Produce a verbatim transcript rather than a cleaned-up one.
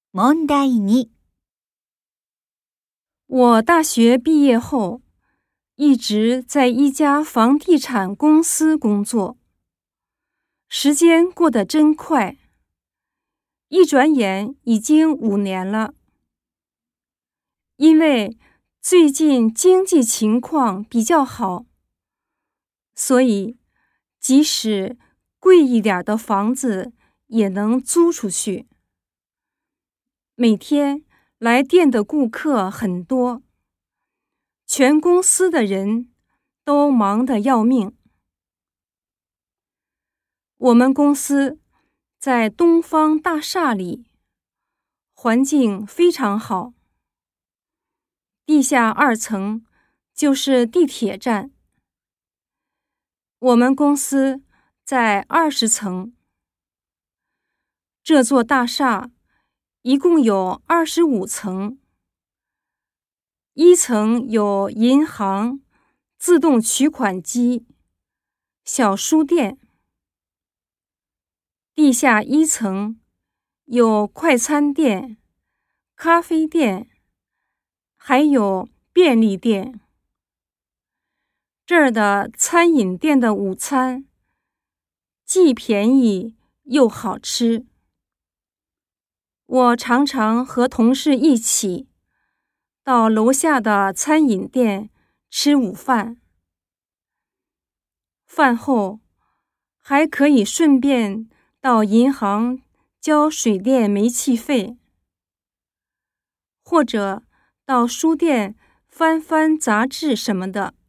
問題に。 我大学毕业后，一直在一家房地产公司工作。时间过得真快，一转眼已经五年了。因为最近经济情况比较好，所以即使贵一点的房子也能租出去。每天来店的顾客很多，全公司的人都忙得要命。我们公司在东方大厦里，环境非常好。地下二层就是地铁站。我们公司在二十层。这座大厦一共有二十五层。一层有银行、自动取款机、小书店。地下一层有快餐店、咖啡店，还有便利店。这儿的餐饮店的午餐既便宜又好吃。我常常和同事一起到楼下的餐饮店吃午饭，饭后还可以顺便到银行交水电煤气费，或者到书店翻翻杂志什么的。